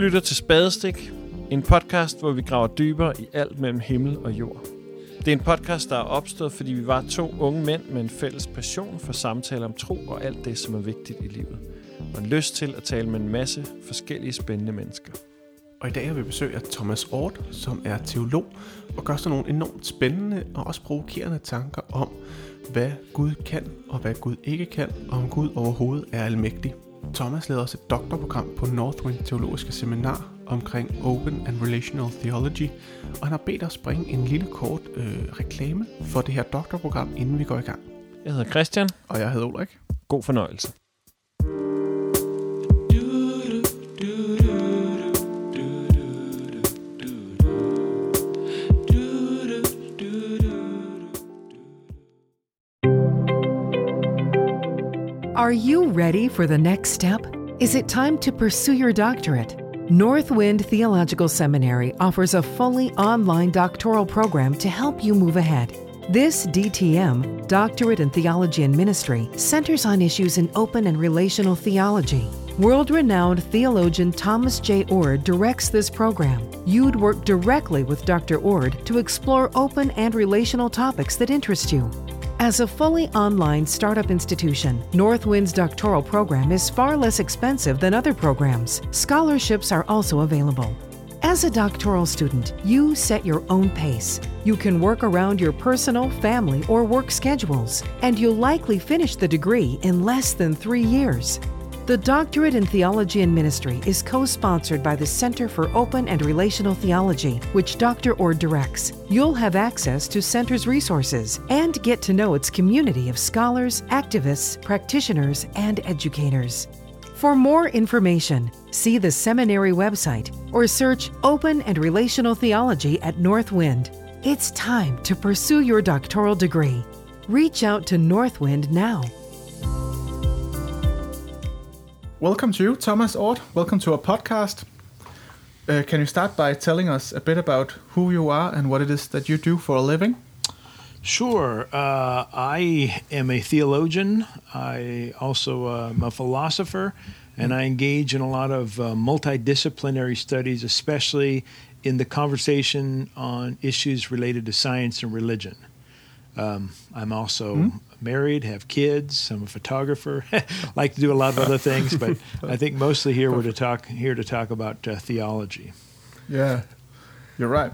lytter til Spadestik, en podcast, hvor vi graver dybere i alt mellem himmel og jord. Det er en podcast, der er opstået, fordi vi var 2 unge mænd med en fælles passion for samtaler om tro og alt det, som er vigtigt i livet. Og en lyst til at tale med en masse forskellige spændende mennesker. Og i dag har vi besøg af Thomas Oord, som er teolog og gør sådan nogle enormt spændende og også provokerende tanker om, hvad Gud kan og hvad Gud ikke kan, og om Gud overhovedet er almægtig. Thomas leder også et doktorprogram på Northwind Teologiske Seminar omkring Open and Relational Theology, og han har bedt os bringe en lille kort reklame for det her doktorprogram, inden vi går i gang. Jeg hedder Christian. Og jeg hedder Ulrik. God fornøjelse. Are you ready for the next step? Is it time to pursue your doctorate? Northwind Theological Seminary offers a fully online doctoral program to help you move ahead. This DTM, Doctorate in Theology and Ministry, centers on issues in open and relational theology. World-renowned theologian Thomas J. Oord directs this program. You'd work directly with Dr. Oord to explore open and relational topics that interest you. As a fully online startup institution, Northwind's doctoral program is far less expensive than other programs. Scholarships are also available. As a doctoral student, you set your own pace. You can work around your personal, family, or work schedules, and you'll likely finish the degree in less than 3 years. The Doctorate in Theology and Ministry is co-sponsored by the Center for Open and Relational Theology, which Dr. Oord directs. You'll have access to Center's resources and get to know its community of scholars, activists, practitioners, and educators. For more information, see the seminary website or search Open and Relational Theology at Northwind. It's time to pursue your doctoral degree. Reach out to Northwind now. Welcome to you, Thomas Oord. Welcome to our podcast. Can you start by telling us a bit about who you are and what it is that you do for a living? Sure. I am a theologian. I also am a philosopher, and I engage in a lot of multidisciplinary studies, especially in the conversation on issues related to science and religion. I'm also married, have kids. I'm a photographer. Like to do a lot of other things, but I think mostly we're to talk about theology. Yeah, you're right.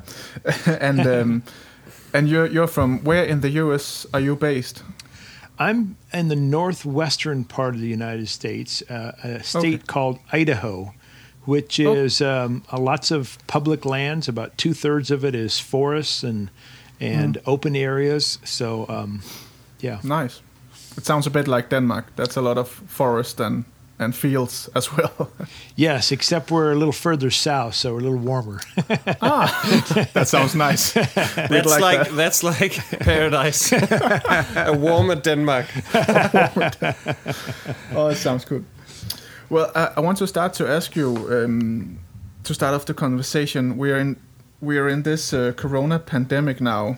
And you're from where in the U.S. are you based? I'm in the northwestern part of the United States, a state called Idaho, which is lots of public lands. About 2/3 of it is forests and open areas. So, yeah. Nice. It sounds a bit like Denmark. That's a lot of forest and fields as well. Yes, except we're a little further south, so we're a little warmer. That sounds nice. That's like paradise. A warmer Denmark. Oh, it sounds good. Well, I want to start to ask you, to start off the conversation, we are in this corona pandemic now.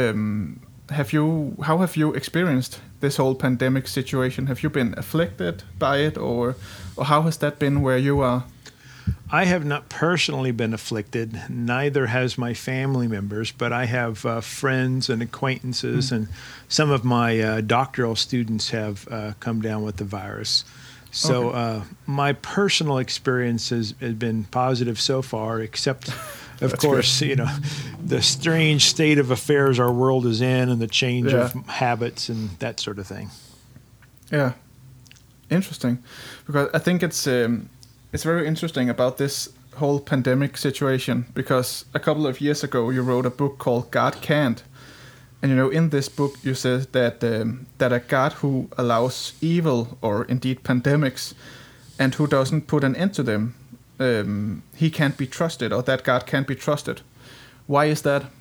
How have you experienced this whole pandemic situation? Have you been afflicted by it, or how has that been where you are? I have not personally been afflicted. Neither has my family members, but I have friends and acquaintances, and some of my doctoral students have come down with the virus. So my personal experience has been positive so far, except of course, good. The strange state of affairs our world is in, and the change of habits and that sort of thing. Yeah, interesting. Because I think it's very interesting about this whole pandemic situation. Because a couple of years ago, you wrote a book called God Can't, and in this book you said that a God who allows evil or indeed pandemics, and who doesn't put an end to them, he can't be trusted, or that God can't be trusted. Why is that?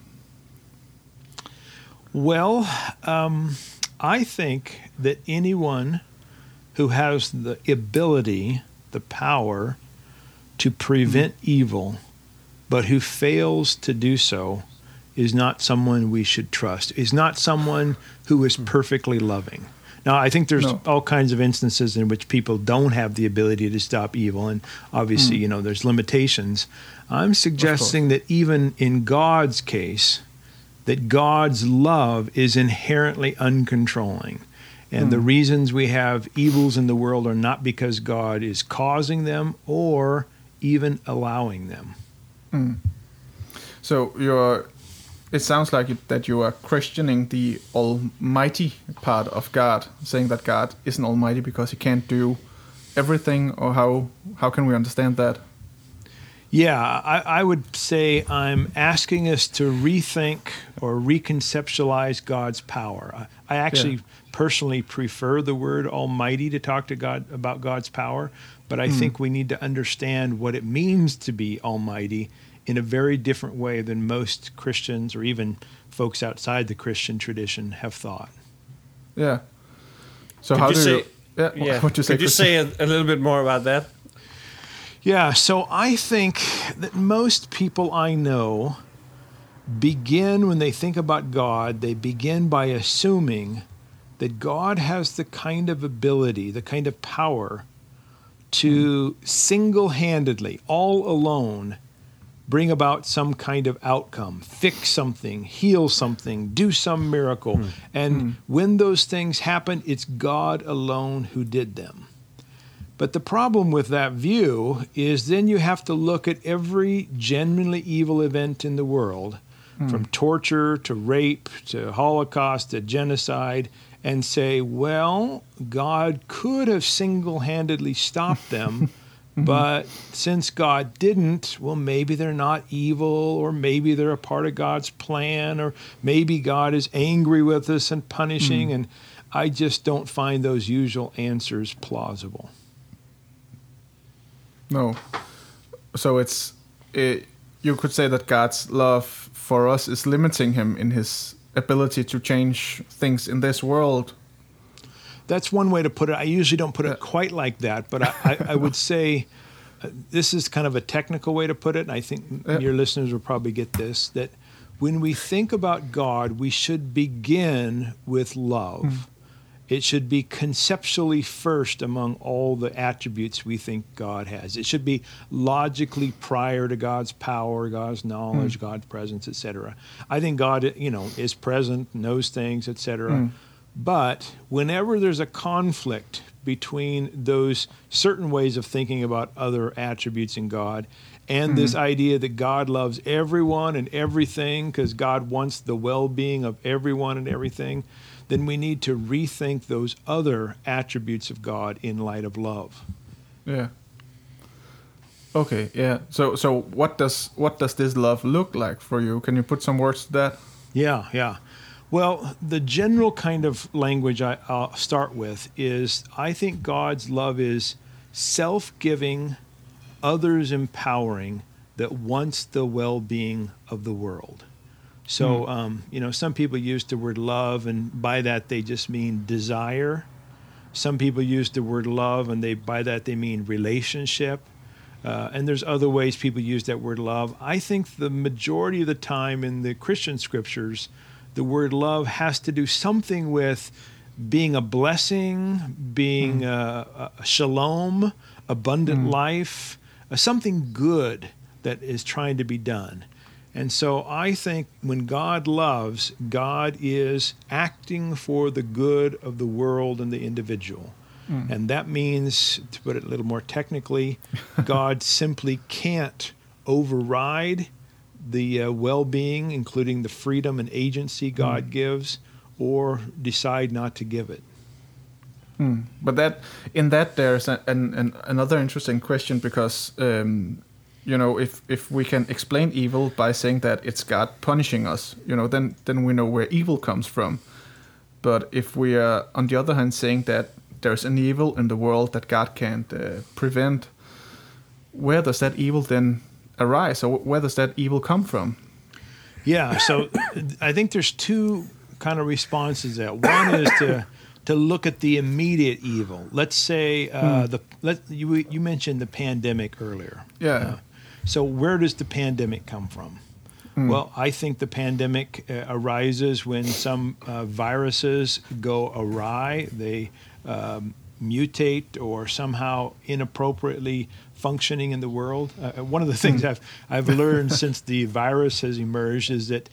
Well, I think that anyone who has the ability, the power to prevent evil, but who fails to do so, is not someone we should trust, is not someone who is perfectly loving. Now, I think there's No. all kinds of instances in which people don't have the ability to stop evil, and obviously, there's limitations. I'm suggesting that even in God's case, that God's love is inherently uncontrolling. And the reasons we have evils in the world are not because God is causing them or even allowing them. So it sounds like that you are questioning the almighty part of God, saying that God isn't almighty because he can't do everything, or how can we understand that? Yeah, I would say I'm asking us to rethink or reconceptualize God's power. I actually personally prefer the word almighty to talk to God about God's power, but I think we need to understand what it means to be almighty in a very different way than most Christians or even folks outside the Christian tradition have thought. Yeah. So Could how you do say, you... Yeah, yeah. what you say, Could you Christian? say a little bit more about that? Yeah, so I think that most people I know begin, when they think about God, they begin by assuming that God has the kind of ability, the kind of power to single-handedly, all alone, bring about some kind of outcome, fix something, heal something, do some miracle. And when those things happen, it's God alone who did them. But the problem with that view is then you have to look at every genuinely evil event in the world, from torture to rape to Holocaust to genocide, and say, well, God could have single-handedly stopped them, but since God didn't, well, maybe they're not evil, or maybe they're a part of God's plan, or maybe God is angry with us and punishing, and I just don't find those usual answers plausible. No. So you could say that God's love for us is limiting him in his ability to change things in this world. That's one way to put it. I usually don't put it quite like that, but I would say this is kind of a technical way to put it, and I think your listeners will probably get this, that when we think about God, we should begin with love. It should be conceptually first among all the attributes we think God has. It should be logically prior to God's power, God's knowledge, God's presence, etc. I think God, is present, knows things, etc. But whenever there's a conflict between those certain ways of thinking about other attributes in God and this idea that God loves everyone and everything because God wants the well-being of everyone and everything, then we need to rethink those other attributes of God in light of love. Yeah. Okay, yeah. So what does this love look like for you? Can you put some words to that? Yeah. Well, the general kind of language I'll start with is I think God's love is self-giving, others empowering, that wants the well-being of the world. So, some people use the word love, and by that they just mean desire. Some people use the word love, and by that they mean relationship. And there's other ways people use that word love. I think the majority of the time in the Christian scriptures, the word love has to do something with being a blessing, being a shalom, abundant life, something good that is trying to be done. And so I think when God loves, God is acting for the good of the world and the individual. And that means, to put it a little more technically, God simply can't override the well-being, including the freedom and agency God gives, or decide not to give it. But there's another interesting question, because if we can explain evil by saying that it's God punishing us, then we know where evil comes from. But if we are, on the other hand, saying that there's an evil in the world that God can't prevent, where does that evil then arise? Or where does that evil come from? Yeah, so I think there's two kind of responses to that. One is to look at the immediate evil. Let's say you mentioned the pandemic earlier. Yeah. So where does the pandemic come from? Well, I think the pandemic arises when some viruses go awry. They mutate or somehow inappropriately functioning in the world. One of the things I've learned since the virus has emerged is that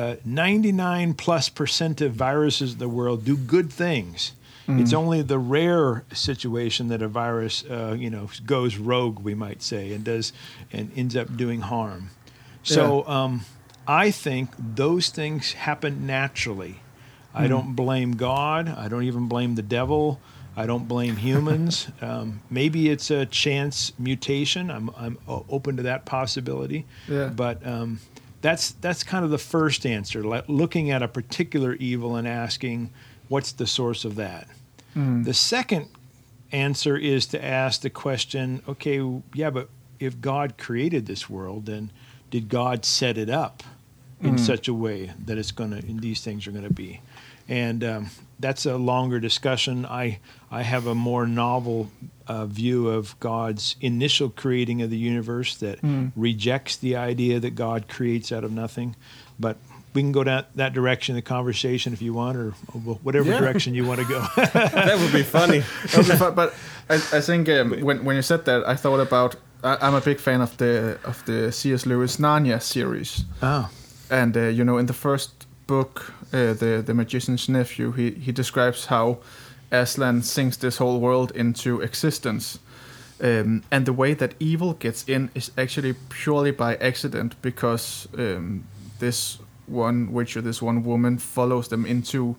99+% of viruses in the world do good things. It's only the rare situation that a virus, goes rogue, we might say, and ends up doing harm. So I think those things happen naturally. I don't blame God. I don't even blame the devil. I don't blame humans. Maybe it's a chance mutation. I'm open to that possibility. Yeah. But that's kind of the first answer, looking at a particular evil and asking, what's the source of that? The second answer is to ask the question, okay, yeah, but if God created this world, then did God set it up in such a way that these things are going to be? And that's a longer discussion. I have a more novel view of God's initial creating of the universe that rejects the idea that God creates out of nothing. But we can go down that direction in the conversation if you want, or whatever direction you want to go. That would be funny. That would be fun. But I think when you said that, I thought about. I'm a big fan of the C.S. Lewis Narnia series. Oh. And in the first book, the Magician's Nephew, he describes how Aslan sinks this whole world into existence. And the way that evil gets in is actually purely by accident, because this one witch or this one woman follows them into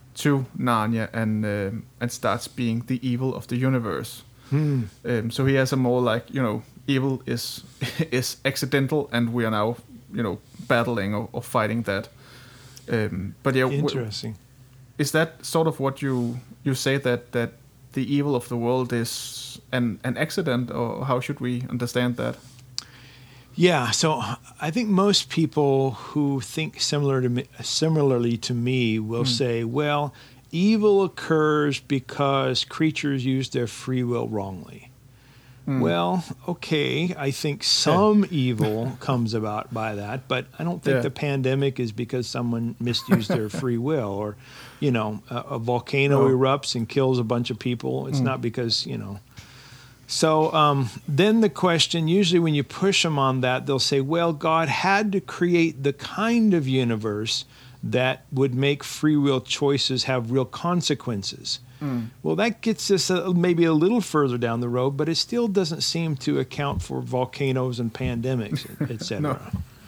Narnia and starts being the evil of the universe. So he has a more like, evil is accidental, and we are now, battling or fighting that. But yeah, interesting. Is that sort of what you say, that the evil of the world is an accident, or how should we understand that? Yeah, so I think most people who think similarly to me will say, well, evil occurs because creatures use their free will wrongly. Well, okay, I think some evil comes about by that, but I don't think the pandemic is because someone misused their free will, or, a volcano erupts and kills a bunch of people. It's not because, So then the question, usually when you push them on that, they'll say, well, God had to create the kind of universe that would make free will choices have real consequences. Well, that gets us maybe a little further down the road, but it still doesn't seem to account for volcanoes and pandemics, etc.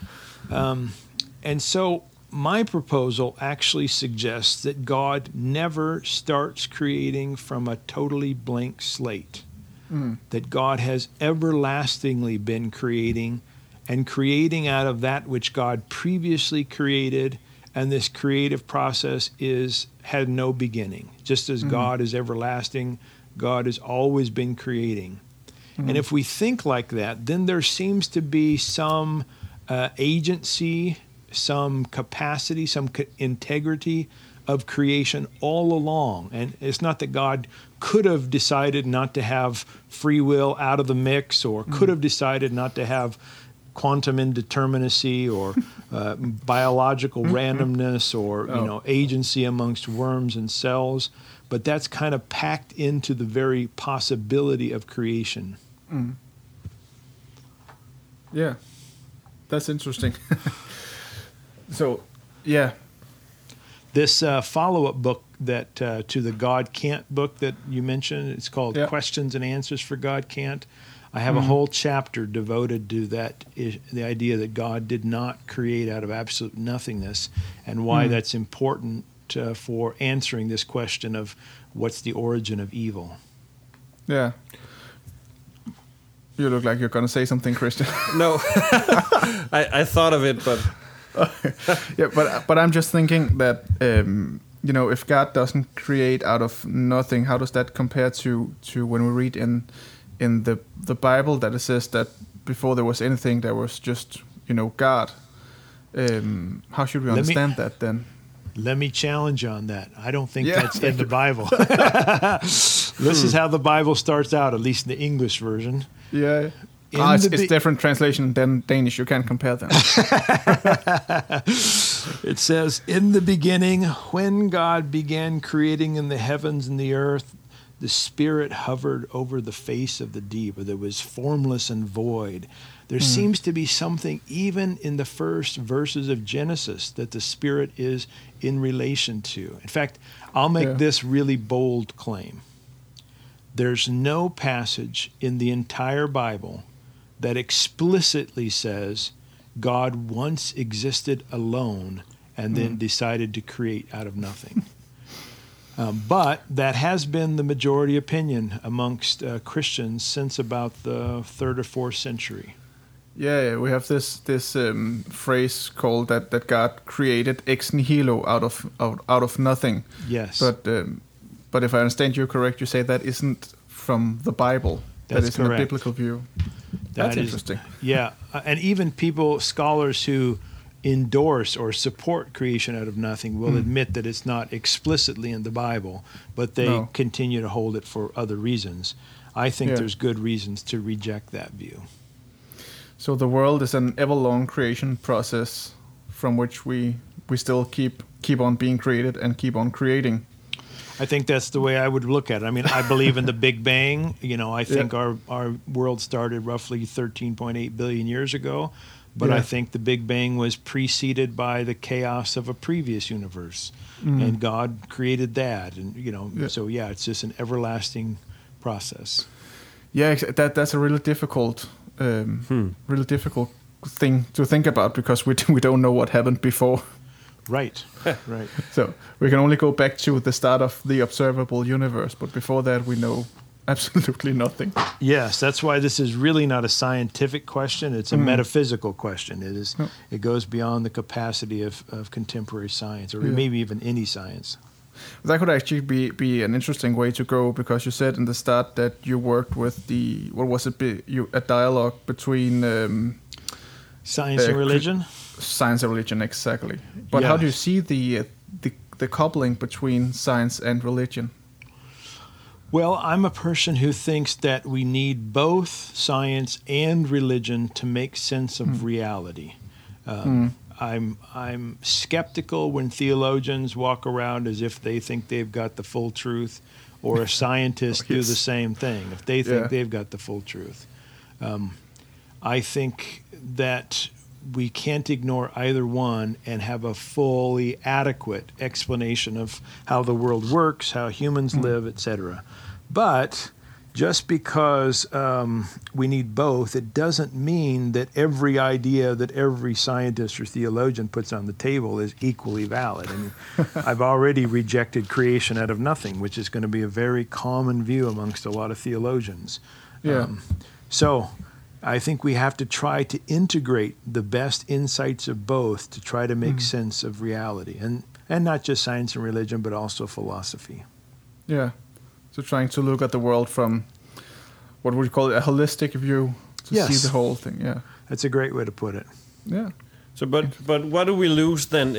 And so my proposal actually suggests that God never starts creating from a totally blank slate, that God has everlastingly been creating, and creating out of that which God previously created. And this creative process had no beginning. Just as God is everlasting, God has always been creating. And if we think like that, then there seems to be some agency, some capacity, some integrity of creation all along. And it's not that God could have decided not to have free will out of the mix, or could have decided not to have quantum indeterminacy, or biological randomness, or agency amongst worms and cells, but that's kind of packed into the very possibility of creation. Yeah, that's interesting. So, yeah. This follow-up book that to the God Can't book that you mentioned, it's called Questions and Answers for God Can't. I have a whole chapter devoted to that, the idea that God did not create out of absolute nothingness, and why that's important for answering this question of what's the origin of evil. Yeah. You look like you're going to say something, Christian. No, I thought of it, but... but I'm just thinking that, if God doesn't create out of nothing, how does that compare to when we read in the Bible that it says that before there was anything, there was just, God. How should we understand that then? Let me challenge you on that. I don't think that's in the Bible. This is how the Bible starts out, at least in the English version. Yeah. It's different translation than Danish. You can't compare them. It says, in the beginning, when God began creating in the heavens and the earth, the Spirit hovered over the face of the deep, or there was formless and void. There seems to be something even in the first verses of Genesis that the Spirit is in relation to. In fact, I'll make this really bold claim. There's no passage in the entire Bible that explicitly says God once existed alone and then decided to create out of nothing. But that has been the majority opinion amongst Christians since about the 3rd or 4th century. Yeah, we have this phrase called that God created ex nihilo out of nothing. Yes. But if I understand you correct, you say that isn't from the Bible. That's that isn't correct. a biblical view. That's interesting. Yeah, and even scholars who endorse or support creation out of nothing will admit that it's not explicitly in the Bible, but they continue to hold it for other reasons. I think there's good reasons to reject that view. So the world is an ever-long creation process from which we still keep on being created and keep on creating. I think that's the way I would look at it. I mean, I believe in the Big Bang. I think our world started roughly 13.8 billion years ago, but I think the Big Bang was preceded by the chaos of a previous universe, and God created that, and so it's just an everlasting process. Yeah, that's a really difficult thing to think about because we don't know what happened before. Right, right. So we can only go back to the start of the observable universe, but before that we know absolutely nothing. Yes, that's why this is really not a scientific question. It's a metaphysical question. It goes beyond the capacity of contemporary science, or maybe even any science. That could actually be an interesting way to go, because you said in the start that you worked with a dialogue between science and religion. Science and religion, exactly. But how do you see the coupling between science and religion? Well, I'm a person who thinks that we need both science and religion to make sense of reality. I'm skeptical when theologians walk around as if they think they've got the full truth, or scientists do the same thing if they think they've got the full truth. I think that we can't ignore either one and have a fully adequate explanation of how the world works, how humans live, etc. But just because we need both, it doesn't mean that every idea that every scientist or theologian puts on the table is equally valid. I mean, I've already rejected creation out of nothing, which is going to be a very common view amongst a lot of theologians. So I think we have to try to integrate the best insights of both to try to make sense of reality, and not just science and religion, but also philosophy. Yeah. So trying to look at the world from, what would you call it, a holistic view to see the whole thing. Yeah, that's a great way to put it. Yeah. So, but what do we lose then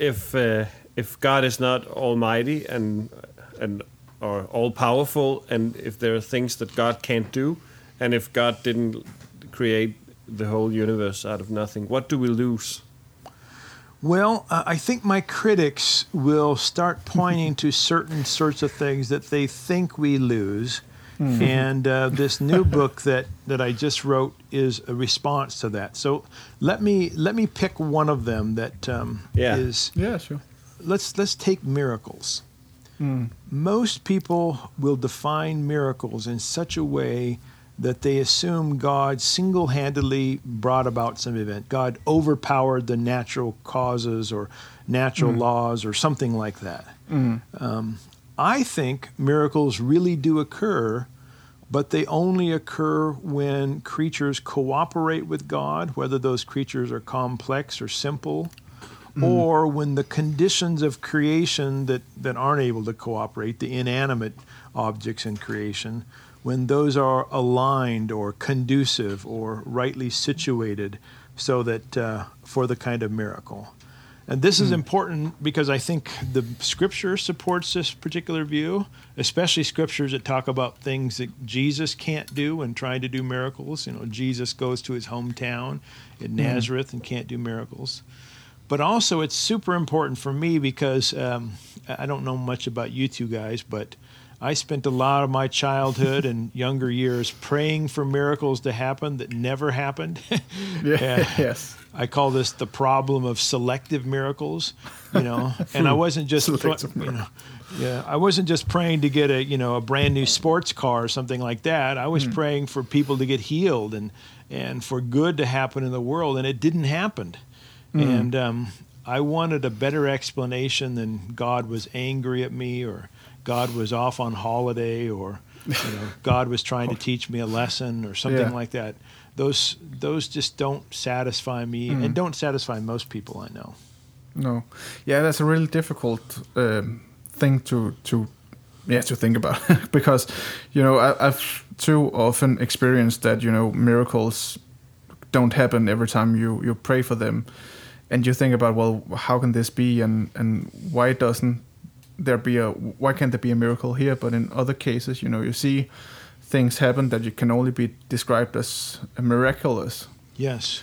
if God is not almighty and or all powerful, and if there are things that God can't do, and if God didn't create the whole universe out of nothing, what do we lose? Well, I think my critics will start pointing to certain sorts of things that they think we lose. And this new book that I just wrote is a response to that. So let me pick one of them that is... Yeah, sure. Let's take miracles. Most people will define miracles in such a way that they assume God single-handedly brought about some event. God overpowered the natural causes or natural laws or something like that. I think miracles really do occur, but they only occur when creatures cooperate with God, whether those creatures are complex or simple, or when the conditions of creation that aren't able to cooperate, the inanimate objects in creation, when those are aligned or conducive or rightly situated so that for the kind of miracle. And this is important because I think the Scripture supports this particular view, especially Scriptures that talk about things that Jesus can't do when trying to do miracles. Jesus goes to his hometown in Nazareth and can't do miracles. But also it's super important for me because I don't know much about you two guys, but I spent a lot of my childhood and younger years praying for miracles to happen that never happened. Yes. I call this the problem of selective miracles, and I wasn't just, I wasn't just praying to get a brand new sports car or something like that. I was praying for people to get healed and for good to happen in the world, and it didn't happen. And I wanted a better explanation than God was angry at me or God was off on holiday or God was trying to teach me a lesson or something like that. Those just don't satisfy me and don't satisfy most people I know. No. Yeah, that's a really difficult thing to think about because I've too often experienced that miracles don't happen every time you pray for them. And you think about, well, how can this be, and why can't there be a miracle here? But in other cases, you see things happen that can only be described as miraculous. Yes.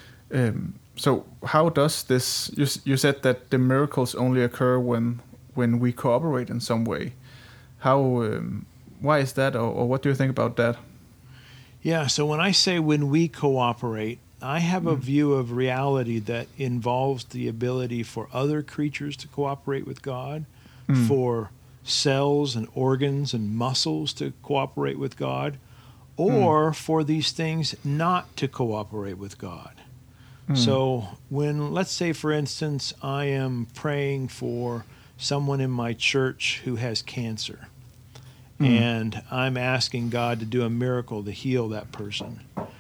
So how does this? You said that the miracles only occur when we cooperate in some way. How? Why is that, or what do you think about that? Yeah. So when I say when we cooperate, I have a view of reality that involves the ability for other creatures to cooperate with God, for cells and organs and muscles to cooperate with God, or for these things not to cooperate with God. So when, let's say, for instance, I am praying for someone in my church who has cancer, and I'm asking God to do a miracle to heal that person.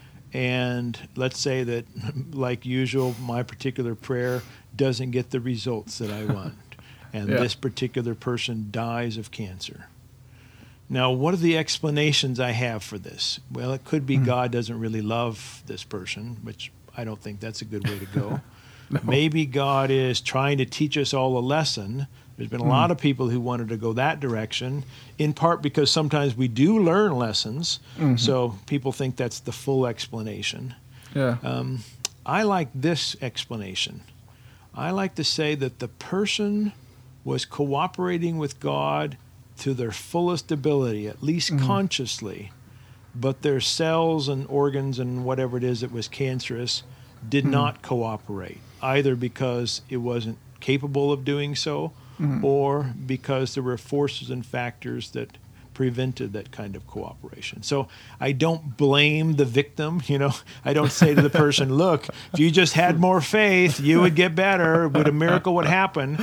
And let's say that, like usual, my particular prayer doesn't get the results that I want. And this particular person dies of cancer. Now, what are the explanations I have for this? Well, it could be God doesn't really love this person, which I don't think that's a good way to go. No. Maybe God is trying to teach us all a lesson. There's been a lot of people who wanted to go that direction, in part because sometimes we do learn lessons, so people think that's the full explanation. Yeah. I like this explanation. I like to say that the person was cooperating with God to their fullest ability, at least consciously, but their cells and organs and whatever it is that was cancerous did not cooperate, either because it wasn't capable of doing so, or because there were forces and factors that prevented that kind of cooperation. So I don't blame the victim, I don't say to the person, look, if you just had more faith, you would get better, a miracle would happen,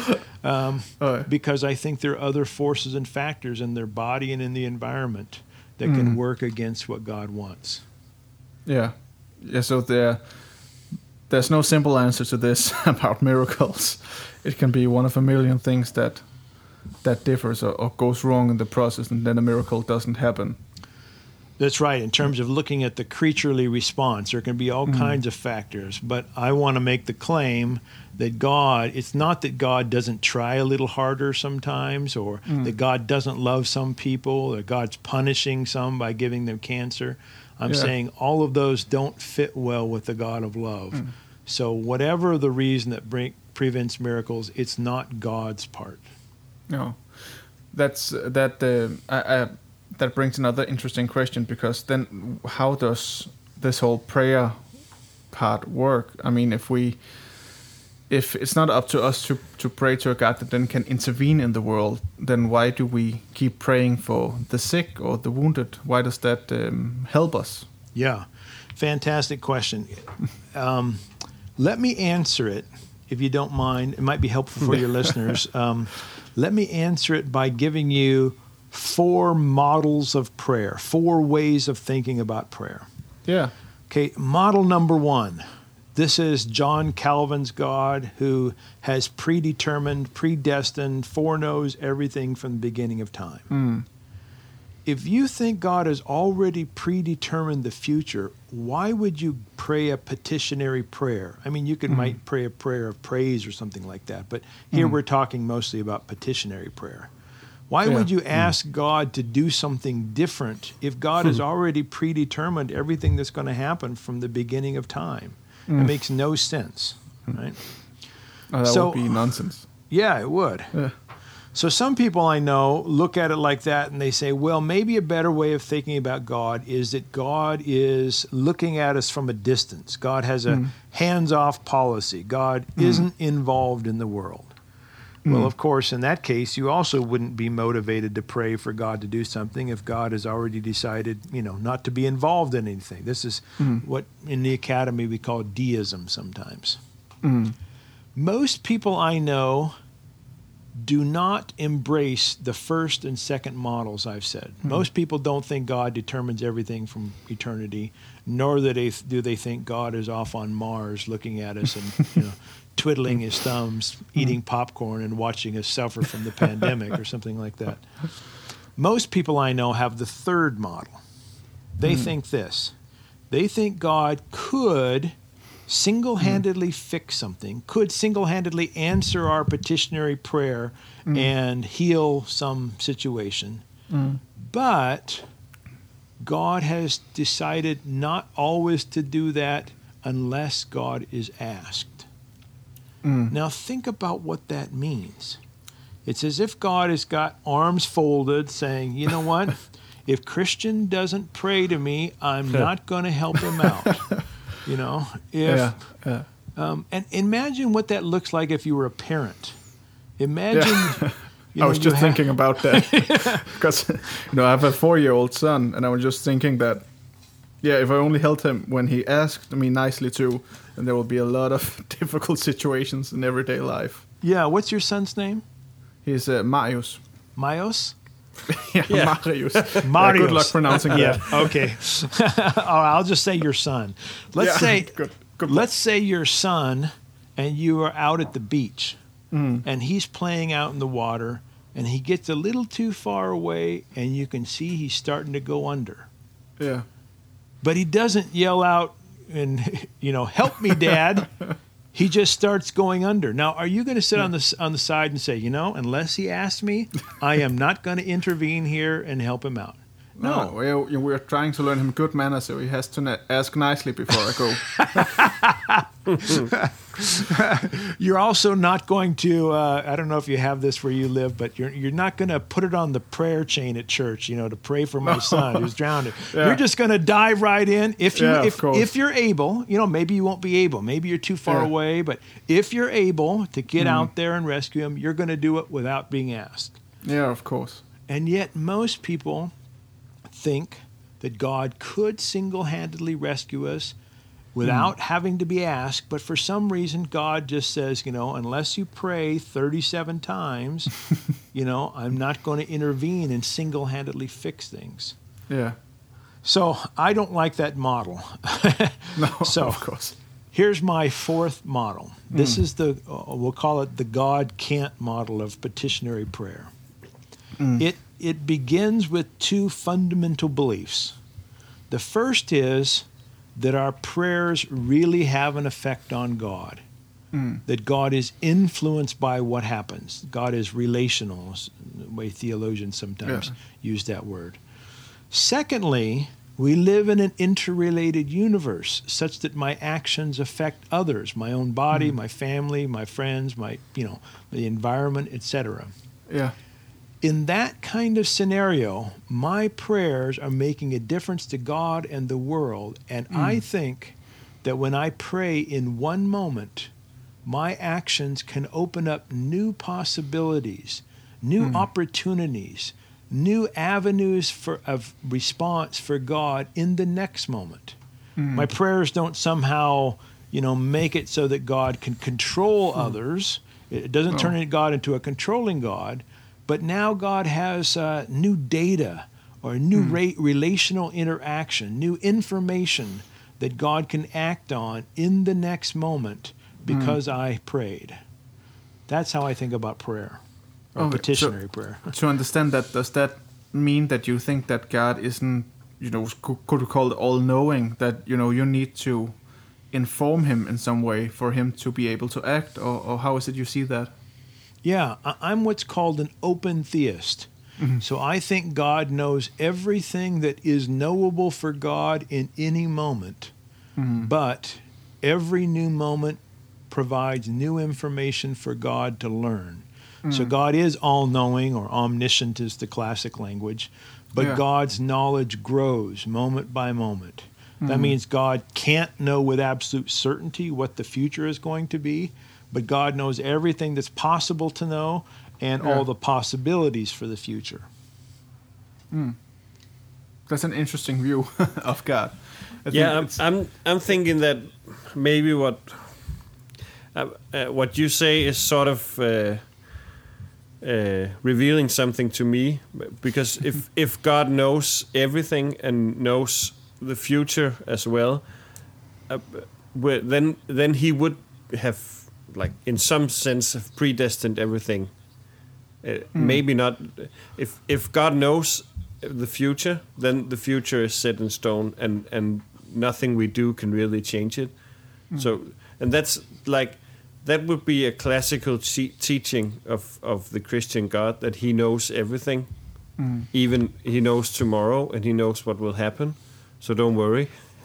because I think there are other forces and factors in their body and in the environment that can work against what God wants. Yeah, so there's no simple answer to this about miracles. It can be one of a million things that differs or goes wrong in the process, and then a miracle doesn't happen. That's right. In terms of looking at the creaturely response, there can be all kinds of factors. But I want to make the claim that it's not that God doesn't try a little harder sometimes, or that God doesn't love some people, or God's punishing some by giving them cancer. I'm saying all of those don't fit well with the God of love. So whatever the reason that prevents miracles, it's not God's part. No, that brings another interesting question, because then how does this whole prayer part work? I mean, if it's not up to us to pray to a God that then can intervene in the world, then why do we keep praying for the sick or the wounded? Why does that help us? Yeah, fantastic question. Let me answer it, if you don't mind. It might be helpful for your listeners. Let me answer it by giving you 4 models of prayer, 4 ways of thinking about prayer. Yeah. Okay, model number 1. This is John Calvin's God, who has predetermined, predestined, foreknows everything from the beginning of time. if you think God has already predetermined the future, why would you pray a petitionary prayer? I mean, you might pray a prayer of praise or something like that, but here we're talking mostly about petitionary prayer. Why would you ask God to do something different if God has already predetermined everything that's going to happen from the beginning of time? It makes no sense, right? Oh, that would be nonsense. Yeah, it would. Yeah. So some people I know look at it like that and they say, well, maybe a better way of thinking about God is that God is looking at us from a distance. God has a hands-off policy. God isn't involved in the world. Well, of course, in that case, you also wouldn't be motivated to pray for God to do something if God has already decided, not to be involved in anything. This is what in the academy we call deism sometimes. Most people I know do not embrace the first and second models I've said. Most people don't think God determines everything from eternity, nor do they think God is off on Mars looking at us and twiddling his thumbs, eating popcorn, and watching us suffer from the pandemic or something like that. Most people I know have the third model. They think this. They think God could single-handedly fix something, could single-handedly answer our petitionary prayer and heal some situation. But God has decided not always to do that unless God is asked. Now think about what that means. It's as if God has got arms folded saying, you know what? If Christian doesn't pray to me, I'm not going to help him out. And imagine what that looks like if you were a parent. Imagine. I was just thinking about that because I have a 4-year-old son, and I was just thinking that, if I only helped him when he asked me nicely to, then there will be a lot of difficult situations in everyday life. Yeah, what's your son's name? He's Marius. Marius? Marius. Marius. Good luck pronouncing that. Okay. I'll just say your son. Let's say good let's say your son and you are out at the beach and he's playing out in the water and he gets a little too far away and you can see he's starting to go under. Yeah. But he doesn't yell out and help me, Dad. He just starts going under. Now, are you going to sit on the side and say, unless he asks me, I am not going to intervene here and help him out? No. We're trying to learn him good manners, so he has to ask nicely before I go. You're also not going to, I don't know if you have this where you live, but you're not going to put it on the prayer chain at church, to pray for my son who's drowning. Yeah. You're just going to dive right in. If you're able, maybe you won't be able. Maybe you're too far away, but if you're able to get out there and rescue him, you're going to do it without being asked. Yeah, of course. And yet most people think that God could single-handedly rescue us without having to be asked, but for some reason God just says, unless you pray 37 times, I'm not going to intervene and single-handedly fix things. Yeah. So I don't like that model. No, of course. Here's my fourth model. This is we'll call it the God can't model of petitionary prayer. It begins with two fundamental beliefs. The first is that our prayers really have an effect on God, that God is influenced by what happens. God is relational, the way theologians sometimes use that word. Secondly, we live in an interrelated universe such that my actions affect others, my own body, my family, my friends, the environment, etc. Yeah. In that kind of scenario, my prayers are making a difference to God and the world. And I think that when I pray in one moment, my actions can open up new possibilities, new opportunities, new avenues of response for God in the next moment. My prayers don't somehow, make it so that God can control others. It doesn't turn God into a controlling God. But now God has new data or new relational interaction, new information that God can act on in the next moment because I prayed. That's how I think about prayer, or petitionary prayer. To understand that, does that mean that you think that God isn't, could we call it all-knowing, that, you need to inform him in some way for him to be able to act, or how is it you see that? Yeah, I'm what's called an open theist. Mm-hmm. So I think God knows everything that is knowable for God in any moment, but every new moment provides new information for God to learn. So God is all-knowing, or omniscient is the classic language, but God's knowledge grows moment by moment. That means God can't know with absolute certainty what the future is going to be, but God knows everything that's possible to know and all the possibilities for the future. That's an interesting view of God. I'm thinking that maybe what you say is sort of revealing something to me, because if God knows everything and knows the future as well, then he would have, like, in some sense, have predestined everything. Maybe not. If God knows the future, then the future is set in stone, and nothing we do can really change it. So, and that's like, that would be a classical teaching of the Christian God, that he knows everything. Even he knows tomorrow, and he knows what will happen. So don't worry.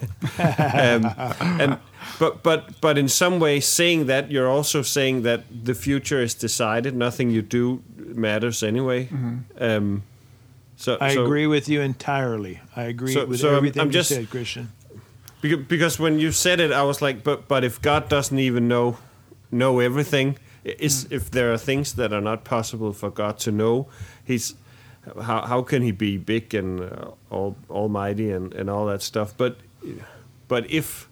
But in some way, saying that, you're also saying that the future is decided. Nothing you do matters anyway. So I agree with you entirely. I agree with everything you said, Christian. Because when you said it, I was like, but if God doesn't even know everything, if there are things that are not possible for God to know, how can he be big and almighty and all that stuff? But if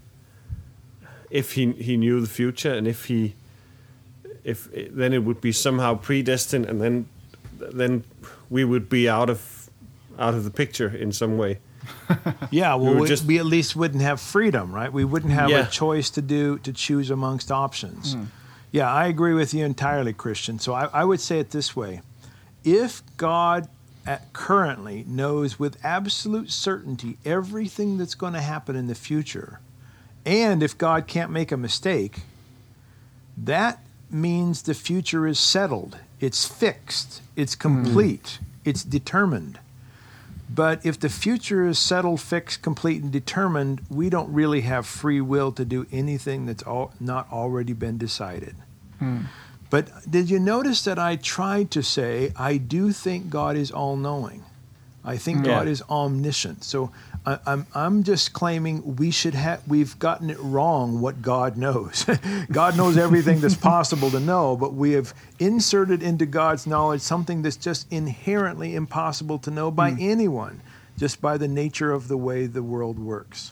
he knew the future, and if then it would be somehow predestined, and then we would be out of the picture in some way. Yeah, well, we at least wouldn't have freedom, right? We wouldn't have a choice to choose amongst options. Yeah, I agree with you entirely, Christian. So I would say it this way: if God currently knows with absolute certainty everything that's going to happen in the future, and if God can't make a mistake, that means the future is settled, it's fixed, it's complete, it's determined. But if the future is settled, fixed, complete, and determined, we don't really have free will to do anything that's not already been decided. But did you notice that I tried to say, I do think God is all-knowing. I think God is omniscient. So I'm just claiming we've gotten it wrong what God knows. God knows everything that's possible to know, but we have inserted into God's knowledge something that's just inherently impossible to know by anyone, just by the nature of the way the world works.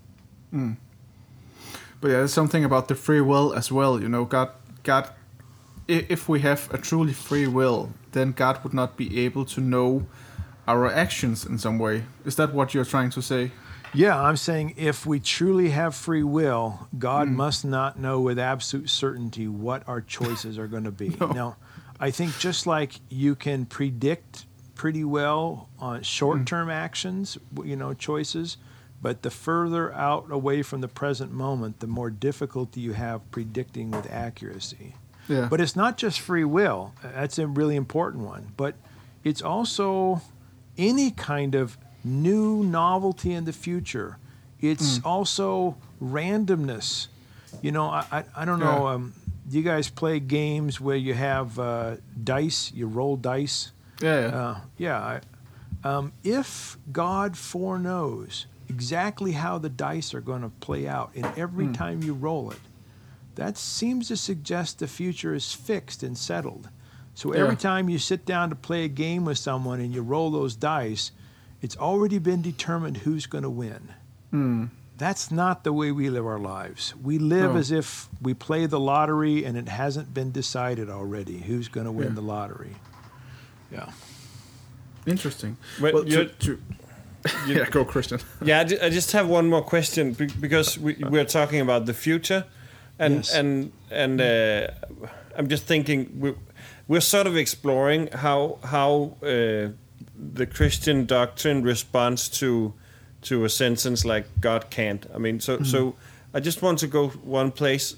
But yeah, there's something about the free will as well. God, if we have a truly free will, then God would not be able to know our actions in some way. Is that what you're trying to say? Yeah, I'm saying if we truly have free will, God must not know with absolute certainty what our choices are going to be. No. Now, I think just like you can predict pretty well on short-term actions, choices, but the further out away from the present moment, the more difficulty you have predicting with accuracy. Yeah. But it's not just free will. That's a really important one. But it's also any kind of new novelty in the future. It's also randomness. I don't know. Do you guys play games where you have dice? You roll dice? Yeah. If God foreknows exactly how the dice are going to play out in every time you roll it, that seems to suggest the future is fixed and settled. So every time you sit down to play a game with someone and you roll those dice, it's already been determined who's going to win. That's not the way we live our lives. We live as if we play the lottery and it hasn't been decided already who's going to win the lottery. Yeah. Interesting. Well, go, Christian. Yeah, I just have one more question, because we're talking about the future, and I'm just thinking we're sort of exploring how the Christian doctrine responds to a sentence like God can't. I mean, so I just want to go one place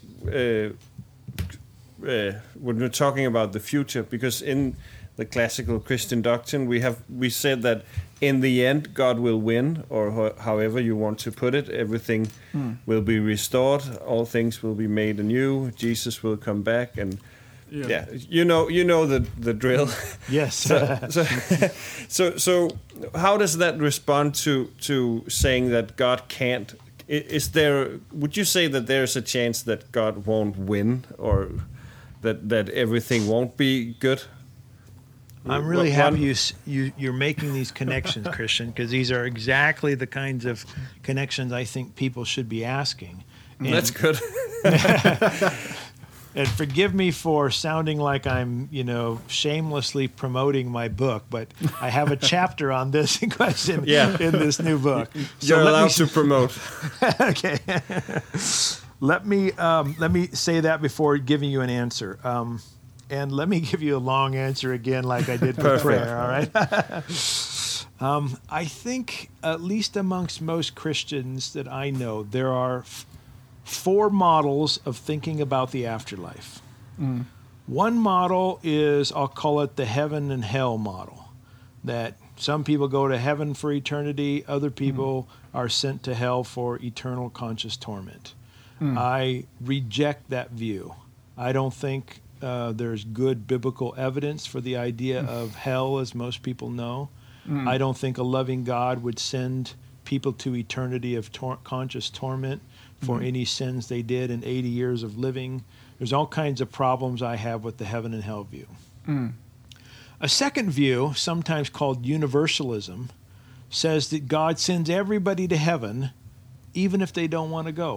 when we're talking about the future, because in the classical Christian doctrine we said that in the end God will win, or however you want to put it. Everything will be restored, all things will be made anew, Jesus will come back, and you know the drill. Yes. So how does that respond to saying that God can't? Would you say that there's a chance that God won't win, or that everything won't be good? I'm really happy you're making these connections, Christian, because these are exactly the kinds of connections I think people should be asking. And that's good. And forgive me for sounding like I'm, shamelessly promoting my book, but I have a chapter on this question in this new book. You're allowed to promote. Okay. Let me say that before giving you an answer. And let me give you a long answer again, like I did for prayer. All right. I think, at least amongst most Christians that I know, there are 4 models of thinking about the afterlife. One model is, I'll call it the heaven and hell model, that some people go to heaven for eternity, other people are sent to hell for eternal conscious torment. I reject that view. I don't think there's good biblical evidence for the idea of hell as most people know. I don't think a loving God would send people to eternity of conscious torment for any sins they did in 80 years of living. There's all kinds of problems I have with the heaven and hell view. A second view, sometimes called universalism, says that God sends everybody to heaven even if they don't want to go.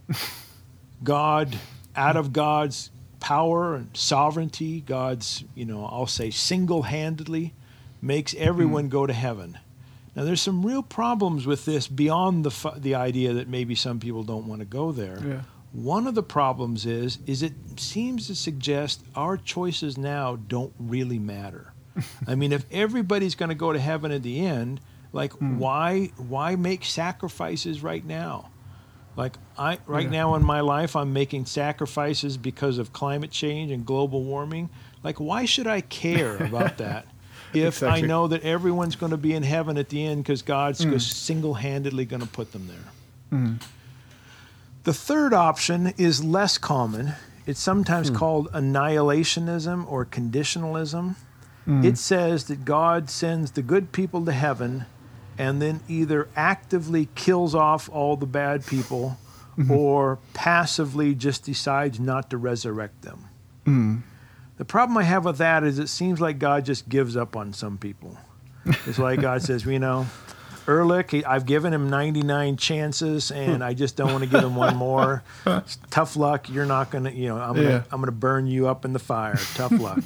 God, out of God's power and sovereignty, God's, I'll say single-handedly makes everyone go to heaven. Now, there's some real problems with this beyond the idea that maybe some people don't want to go there. Yeah. One of the problems is it seems to suggest our choices now don't really matter. I mean, if everybody's going to go to heaven at the end, like why make sacrifices right now? Like now in my life, I'm making sacrifices because of climate change and global warming. Like, why should I care about that if I know that everyone's going to be in heaven at the end because God's single-handedly going to put them there? The third option is less common. It's sometimes called annihilationism or conditionalism. It says that God sends the good people to heaven and then either actively kills off all the bad people or passively just decides not to resurrect them. The problem I have with that is it seems like God just gives up on some people. It's like God says, Ehrlich, I've given him 99 chances, and I just don't want to give him one more. Tough luck. You're not going to, I'm going to burn you up in the fire. Tough luck,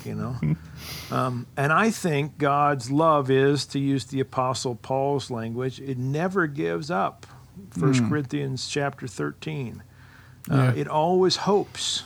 And I think God's love is, to use the Apostle Paul's language, it never gives up. 1 Corinthians chapter 13. It always hopes.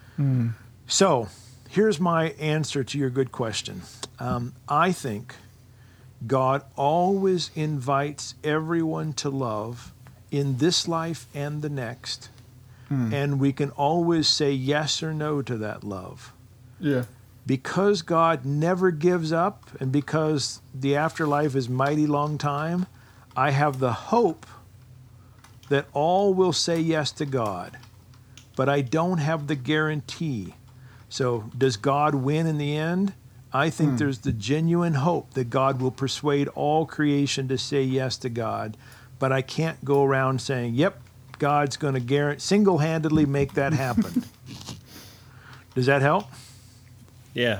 So here's my answer to your good question. I think God always invites everyone to love in this life and the next. And we can always say yes or no to that love. Yeah. Because God never gives up and because the afterlife is mighty long time, I have the hope that all will say yes to God. But I don't have the guarantee. So does God win in the end? I think there's the genuine hope that God will persuade all creation to say yes to God. But I can't go around saying, yep, God's going to single-handedly make that happen. Does that help? Yeah.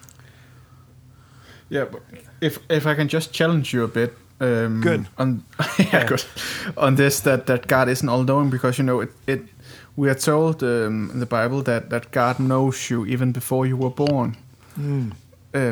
Yeah, but if I can just challenge you a bit. Good. Good. On this, that God isn't all-knowing, because, we are told in the Bible that God knows you even before you were born.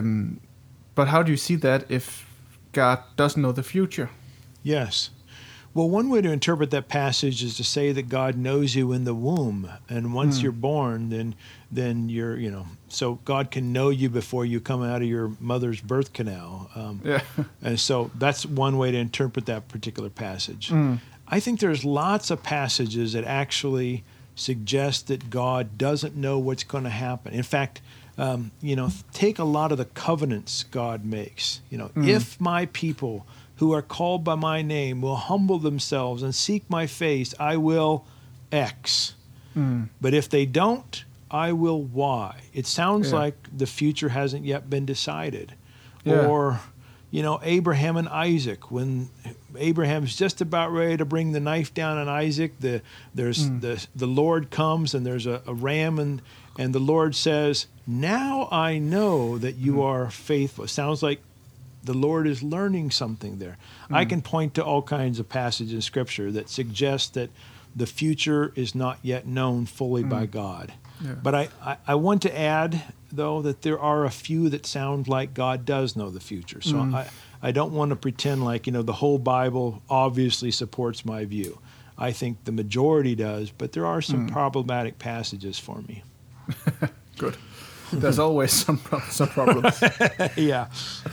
But how do you see that if God doesn't know the future? Yes. Well, one way to interpret that passage is to say that God knows you in the womb, and once you're born, then you're, so God can know you before you come out of your mother's birth canal. And so that's one way to interpret that particular passage. I think there's lots of passages that actually suggest that God doesn't know what's going to happen. In fact, take a lot of the covenants God makes. If my people who are called by my name will humble themselves and seek my face, I will X. But if they don't, I will Y. It sounds like the future hasn't yet been decided. Yeah. Or, Abraham and Isaac, when Abraham's just about ready to bring the knife down on Isaac, the Lord comes and there's a ram, and the Lord says, now I know that you are faithful. It sounds like the Lord is learning something there. I can point to all kinds of passages in Scripture that suggest that the future is not yet known fully by God. Yeah. But I want to add, though, that there are a few that sound like God does know the future. So I don't want to pretend like, the whole Bible obviously supports my view. I think the majority does, but there are some problematic passages for me. Good. There's always some problems. Yeah.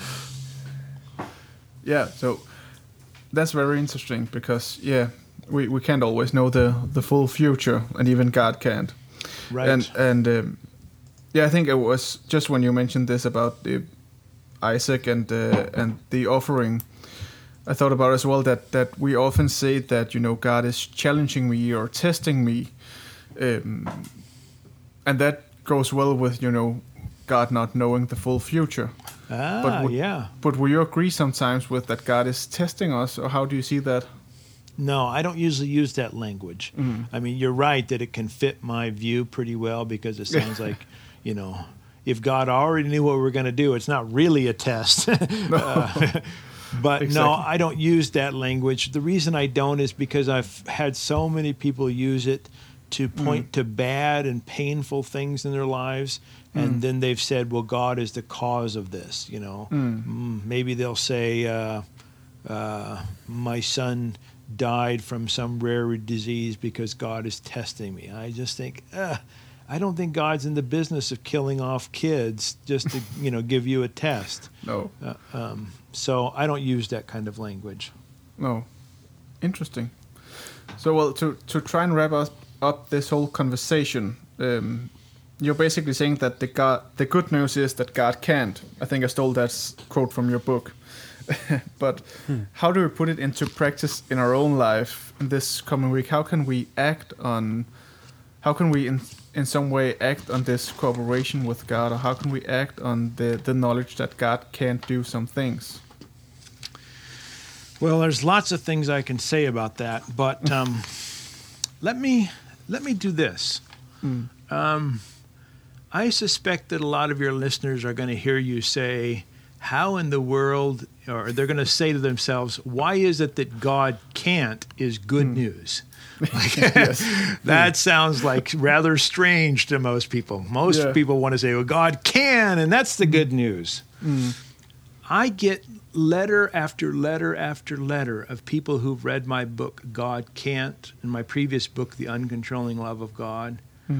Yeah, so that's very interesting because, we can't always know the full future, and even God can't. Right. And I think it was just when you mentioned this about Isaac and the offering, I thought about as well that we often say that, God is challenging me or testing me, and that goes well with, God not knowing the full future. But will you agree sometimes with that God is testing us, or how do you see that? No, I don't usually use that language. I mean, you're right that it can fit my view pretty well, because it sounds like, if God already knew what we were going to do, it's not really a test. But Exactly. no, I don't use that language. The reason I don't is because I've had so many people use it to point to bad and painful things in their lives. And then they've said, well, God is the cause of this, Maybe they'll say, my son died from some rare disease because God is testing me. I just think, I don't think God's in the business of killing off kids just to, give you a test. No. So I don't use that kind of language. No. Interesting. So, well, to try and wrap up this whole conversation, you're basically saying that the good news is that God can't. I think I stole that quote from your book. But how do we put it into practice in our own life in this coming week? How can we in some way act on this cooperation with God, or how can we act on the knowledge that God can't do some things? Well, there's lots of things I can say about that, but let me do this. I suspect that a lot of your listeners are going to hear you say, how in the world, or they're going to say to themselves, why is it that God can't is good news? That sounds like rather strange to most people. Most people want to say, well, God can, and that's the good news. I get letter after letter after letter of people who've read my book, God Can't, and my previous book, The Uncontrolling Love of God,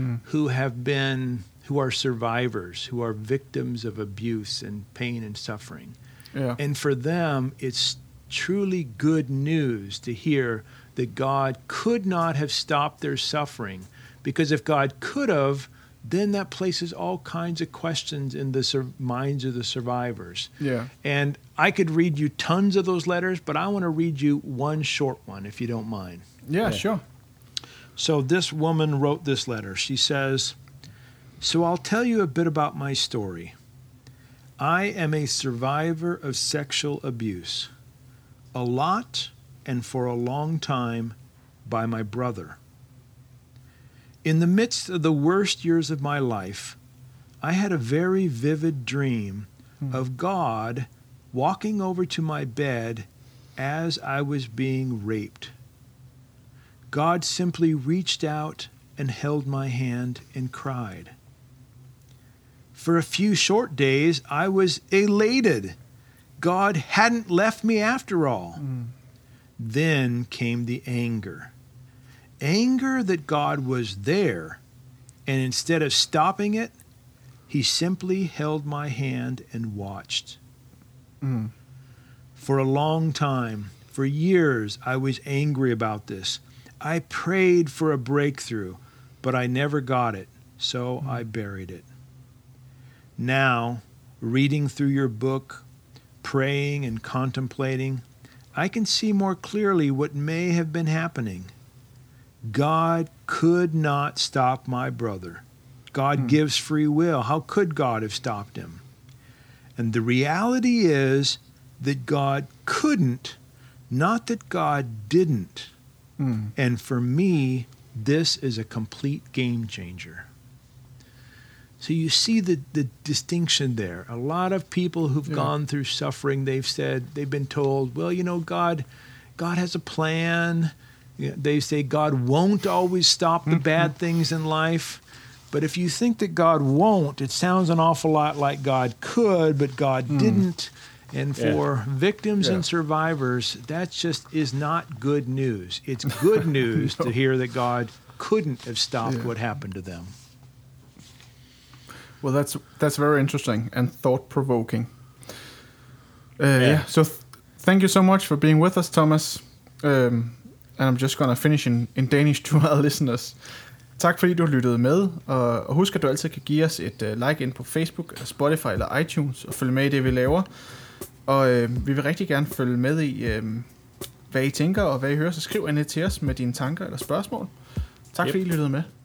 who are survivors, who are victims of abuse and pain and suffering. Yeah. And for them, it's truly good news to hear that God could not have stopped their suffering, because if God could have, then that places all kinds of questions in the minds of the survivors. Yeah. And I could read you tons of those letters, but I want to read you one short one, if you don't mind. Yeah, sure. So this woman wrote this letter. She says, so I'll tell you a bit about my story. I am a survivor of sexual abuse. A lot, and for a long time, by my brother. In the midst of the worst years of my life, I had a very vivid dream of God walking over to my bed as I was being raped. God simply reached out and held my hand and cried. For a few short days, I was elated. God hadn't left me after all. Then came the anger. Anger that God was there, and instead of stopping it, he simply held my hand and watched. For a long time, for years, I was angry about this. I prayed for a breakthrough, but I never got it, so I buried it. Now, reading through your book, praying and contemplating, I can see more clearly what may have been happening. God could not stop my brother. God gives free will. How could God have stopped him? And the reality is that God couldn't, not that God didn't. And for me, this is a complete game changer. So you see the distinction there. A lot of people who've gone through suffering, they've been told, well, you know, God has a plan. They say God won't always stop the bad things in life. But if you think that God won't, it sounds an awful lot like God could, but God didn't. And for victims and survivors, that just is not good news. It's good news to hear that God couldn't have stopped what happened to them. Well, that's very interesting and thought-provoking. So thank you so much for being with us, Thomas. And I'm just gonna finish in Danish to our listeners. Tak fordi du lyttede med, og husk at du altid kan give os et like ind på Facebook, Spotify eller iTunes, og følge med i det, vi laver. Og vi vil rigtig gerne følge med i, hvad I tænker og hvad I hører, så skriv endelig til os med dine tanker eller spørgsmål. Tak fordi I lyttede med.